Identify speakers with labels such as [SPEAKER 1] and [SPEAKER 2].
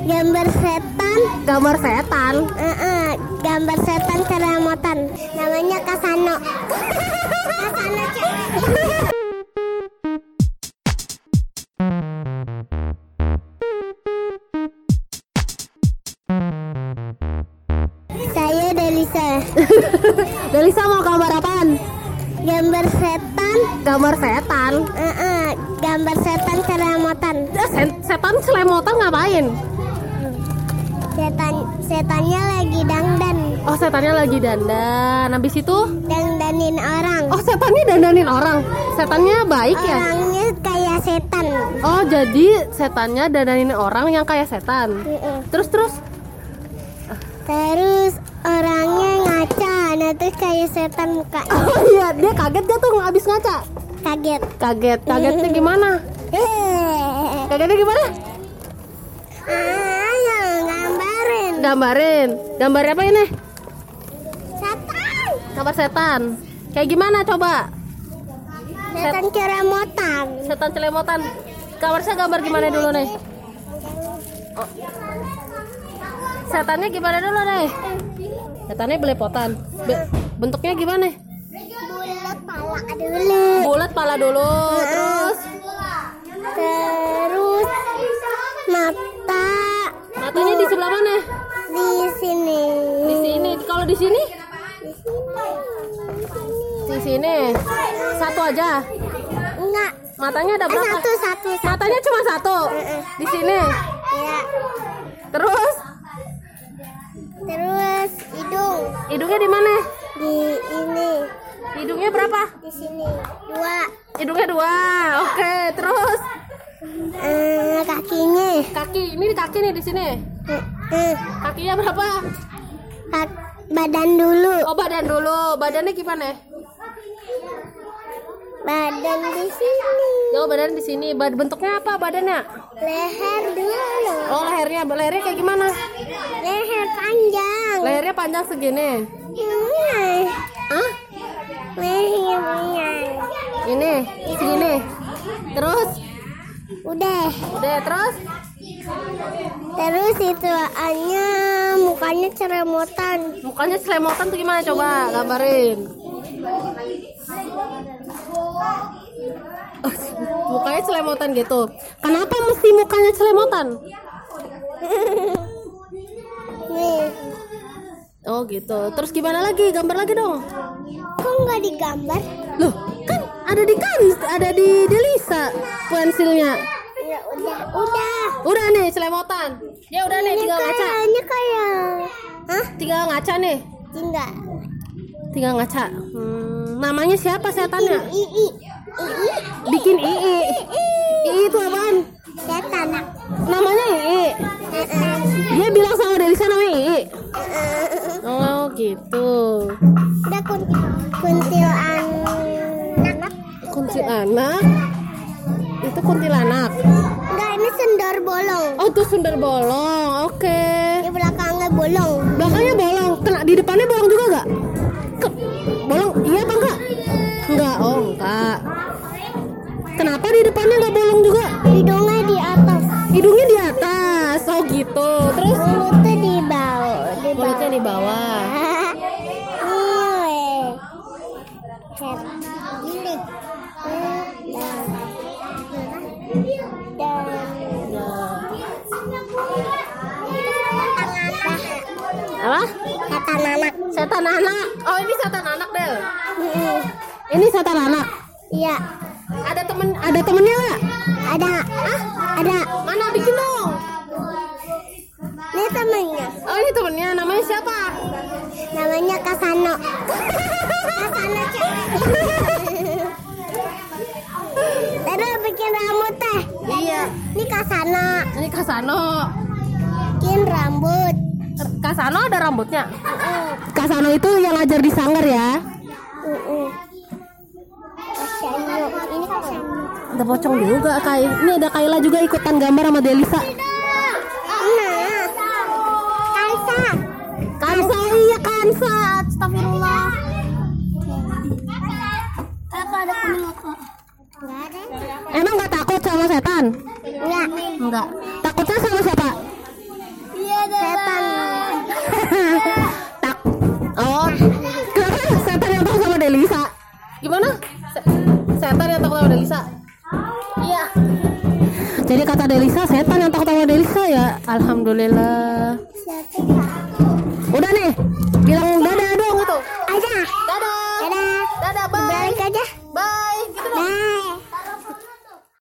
[SPEAKER 1] Gambar setan.
[SPEAKER 2] Gambar setan.
[SPEAKER 1] Gambar setan ceremotan. Namanya Kasano. Kasano Saya Delisa.
[SPEAKER 2] Delisa mau gambar apaan?
[SPEAKER 1] Gambar setan.
[SPEAKER 2] Gambar setan.
[SPEAKER 1] Gambar setan ceremotan.
[SPEAKER 2] Setan selemotan ngapain?
[SPEAKER 1] Setannya lagi dangdan.
[SPEAKER 2] Oh, setannya lagi dandan. Habis itu
[SPEAKER 1] Dandanin orang.
[SPEAKER 2] oh, setannya dandanin orang. Setannya baik ya?
[SPEAKER 1] Orangnya kayak setan.
[SPEAKER 2] Oh, jadi setannya dandanin orang yang kayak setan. Terus
[SPEAKER 1] Terus orangnya ngaca. Nah terus kayak setan mukanya.
[SPEAKER 2] oh iya, dia kaget gak tuh abis ngaca? Kagetnya gimana? Kagetnya gimana?
[SPEAKER 1] Ayo gambarin.
[SPEAKER 2] Gambar apa ini?
[SPEAKER 1] Setan.
[SPEAKER 2] Gambar setan. Kayak gimana coba?
[SPEAKER 1] Setan ceremotan.
[SPEAKER 2] Setan celemotan. Gambar gimana dulu nih? Oh. Setannya gimana dulu nih? Setannya belepotan. Bentuknya gimana? Bulat pala dulu. Terus matanya di sebelah mana?
[SPEAKER 1] Di sini.
[SPEAKER 2] Di sini. Kalau di sini? Di sini. Satu aja.
[SPEAKER 1] Enggak.
[SPEAKER 2] Matanya ada berapa?
[SPEAKER 1] Satu.
[SPEAKER 2] Matanya cuma satu. Di sini.
[SPEAKER 1] Ya.
[SPEAKER 2] Terus
[SPEAKER 1] Hidung.
[SPEAKER 2] hidungnya di mana?
[SPEAKER 1] Di ini.
[SPEAKER 2] Hidungnya berapa?
[SPEAKER 1] Di sini. 2.
[SPEAKER 2] Hidungnya 2. Oke, terus
[SPEAKER 1] Kakinya.
[SPEAKER 2] kaki. Ini di kaki nih di sini. Kakinya berapa?
[SPEAKER 1] Badan dulu.
[SPEAKER 2] Oh, badan dulu. Badannya gimana?
[SPEAKER 1] Badan di sini.
[SPEAKER 2] Oh, badan di sini. Bentuknya apa badannya?
[SPEAKER 1] Leher dulu.
[SPEAKER 2] Oh, lehernya kayak gimana?
[SPEAKER 1] Leher panjang.
[SPEAKER 2] Lehernya panjang segini. Hah?
[SPEAKER 1] Lehernya.
[SPEAKER 2] Ini segini. Terus?
[SPEAKER 1] Udah.
[SPEAKER 2] Terus?
[SPEAKER 1] Terus itu mukanya ceremotan.
[SPEAKER 2] Mukanya selemotan tuh gimana coba gambarin? Mukanya selemotan gitu. Kenapa mesti mukanya selemotan?
[SPEAKER 1] Nih.
[SPEAKER 2] Oh gitu. Terus gimana lagi? Gambar lagi dong.
[SPEAKER 1] Kok nggak digambar?
[SPEAKER 2] Loh, kan ada di Delisa pensilnya.
[SPEAKER 1] Ya udah.
[SPEAKER 2] Udah nih selemotan. Ya udah nih, tinggal ngaca.
[SPEAKER 1] Kayaknya kayak. Hah?
[SPEAKER 2] Tinggal ngaca nih.
[SPEAKER 1] Enggak.
[SPEAKER 2] Tinggal ngaca. Namanya siapa setannya?
[SPEAKER 1] Ii.
[SPEAKER 2] Bikin Ii. Ii itu apaan?
[SPEAKER 1] Setan.
[SPEAKER 2] Namanya Ii. Dia bilang sama Delisa namanya Ii. Oh gitu.
[SPEAKER 1] Udah kuntilanak.
[SPEAKER 2] Kuntilanak. Itu kuntilanak.
[SPEAKER 1] Enggak, ini sundar bolong.
[SPEAKER 2] Oh, itu sundar bolong. Oke.
[SPEAKER 1] Di belakangnya bolong.
[SPEAKER 2] Belakangnya bolong. Kena di depannya bolong juga gak? Bolong? Iya apa enggak? Enggak. Oh, enggak. Kenapa di depannya nggak bolong juga?
[SPEAKER 1] Hidungnya di atas.
[SPEAKER 2] Hidungnya di atas. Oh gitu. Terus
[SPEAKER 1] Mulutnya di bawah.
[SPEAKER 2] mulutnya di bawah.
[SPEAKER 1] Gini.
[SPEAKER 2] Apa?
[SPEAKER 1] Setan anak.
[SPEAKER 2] Setan anak. Oh, ini setan anak, Del. Ini setan anak.
[SPEAKER 1] Iya.
[SPEAKER 2] Ada temennya nggak?
[SPEAKER 1] Ada. Ada.
[SPEAKER 2] Mana bikin dong?
[SPEAKER 1] Ini temennya.
[SPEAKER 2] Oh, ini temennya. Namanya siapa?
[SPEAKER 1] Namanya Kasano. Kasano. Terus bikin rambut teh.
[SPEAKER 2] Iya.
[SPEAKER 1] Ini Kasano.
[SPEAKER 2] Ini Kasano.
[SPEAKER 1] Bikin rambut.
[SPEAKER 2] Kasano ada rambutnya. Kasano itu yang ngajar di sanggar ya.
[SPEAKER 1] Kasano. Ini Kasano.
[SPEAKER 2] Ada pocong juga, Kai. Ini ada Kaila juga ikutan gambar sama Delisa. Kansa, iya Kansa. Astagfirullah.
[SPEAKER 1] Apa ada kuning apa? Enggak ada.
[SPEAKER 2] Emang nggak takut sama setan?
[SPEAKER 1] Enggak.
[SPEAKER 2] Enggak. Takutnya sama siapa? setan yang takut sama Delisa. Gimana? Setan yang takut sama Delisa. Iya. Jadi kata Delisa, setan yang takut sama Delisa ya. Alhamdulillah. Udah nih, bilang